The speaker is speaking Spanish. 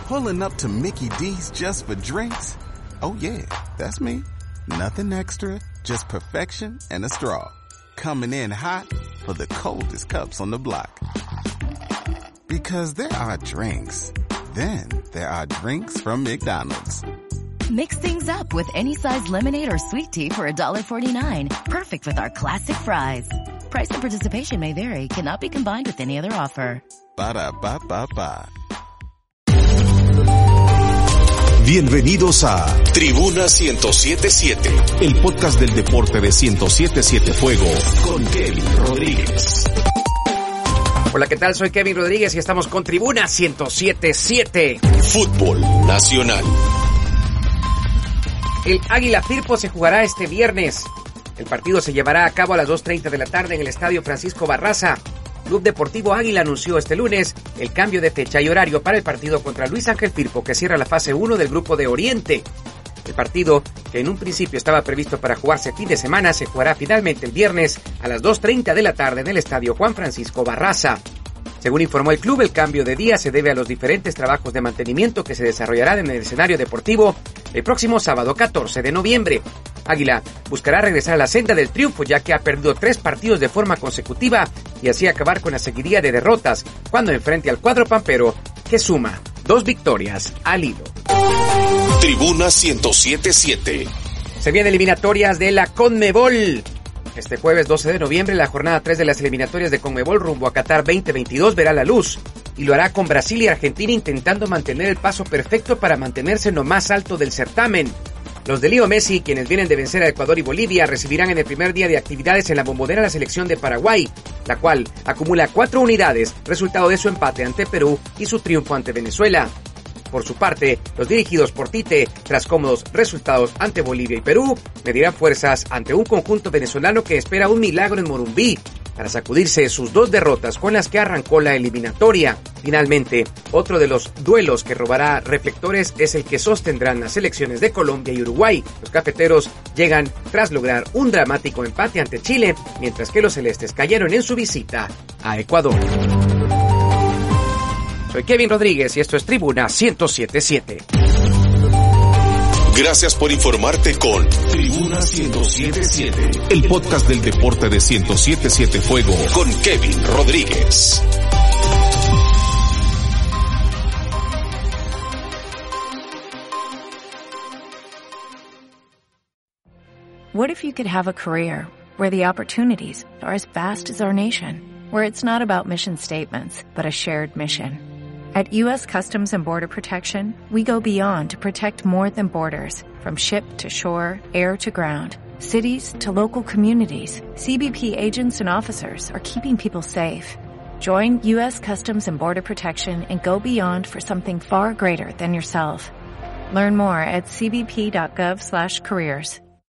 Pulling up to Mickey D's just for drinks? Oh yeah, that's me. Nothing extra, just perfection and a straw. Coming in hot for the coldest cups on the block. Because there are drinks. Then there are drinks from McDonald's. Mix things up with any size lemonade or sweet tea for $1.49. Perfect with our classic fries. Price and participation may vary. Cannot be combined with any other offer. Ba-da-ba-ba-ba. Bienvenidos a Tribuna 107.7, el podcast del deporte de 107.7 Fuego, con Kevin Rodríguez. Hola, ¿qué tal? Soy Kevin Rodríguez y estamos con Tribuna 107.7. Fútbol Nacional. El Águila Firpo se jugará este viernes. El partido se llevará a cabo a las 2:30 de la tarde en el Estadio Francisco Barraza. Club Deportivo Águila anunció este lunes el cambio de fecha y horario para el partido contra Luis Ángel Firpo, que cierra la fase 1 del Grupo de Oriente. El partido, que en un principio estaba previsto para jugarse fin de semana, se jugará finalmente el viernes a las 2:30 de la tarde en el Estadio Juan Francisco Barraza. Según informó el club, el cambio de día se debe a los diferentes trabajos de mantenimiento que se desarrollarán en el escenario deportivo el próximo sábado 14 de noviembre. Águila buscará regresar a la senda del triunfo, ya que ha perdido 3 partidos de forma consecutiva y así acabar con la seguidilla de derrotas cuando enfrente al cuadro pampero, que suma 2 victorias al hilo. Tribuna 107.7. Se vienen eliminatorias de la CONMEBOL. Este jueves 12 de noviembre, la jornada 3 de las eliminatorias de CONMEBOL rumbo a Qatar 2022 verá la luz, y lo hará con Brasil y Argentina intentando mantener el paso perfecto para mantenerse en lo más alto del certamen. Los de Leo Messi, quienes vienen de vencer a Ecuador y Bolivia, recibirán en el primer día de actividades en la Bombonera la selección de Paraguay, la cual acumula 4 unidades, resultado de su empate ante Perú y su triunfo ante Venezuela. Por su parte, los dirigidos por Tite, tras cómodos resultados ante Bolivia y Perú, medirán fuerzas ante un conjunto venezolano que espera un milagro en Morumbí para sacudirse sus 2 derrotas con las que arrancó la eliminatoria. Finalmente, otro de los duelos que robará reflectores es el que sostendrán las selecciones de Colombia y Uruguay. Los cafeteros llegan tras lograr un dramático empate ante Chile, mientras que los celestes cayeron en su visita a Ecuador. Soy Kevin Rodríguez y esto es Tribuna 107.7. Gracias por informarte con Tribuna 107.7, el podcast del deporte de 107.7 Fuego, con Kevin Rodríguez. What if you could have a career where the opportunities are as vast as our nation, where it's not about mission statements, but a shared mission? At U.S. Customs and Border Protection, we go beyond to protect more than borders. From ship to shore, air to ground, cities to local communities, CBP agents and officers are keeping people safe. Join U.S. Customs and Border Protection and go beyond for something far greater than yourself. Learn more at cbp.gov/careers.